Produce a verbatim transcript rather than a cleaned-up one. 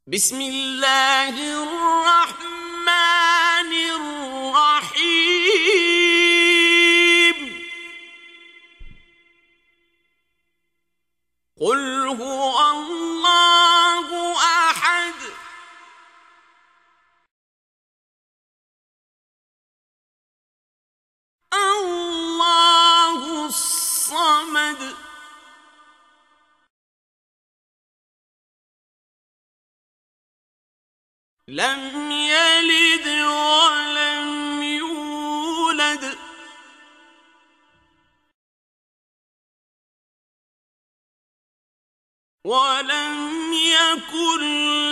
بسم الله الرحمن الرحيم قل هو الله أحد الله الصمد لم يلد ولم يولد ولم يكن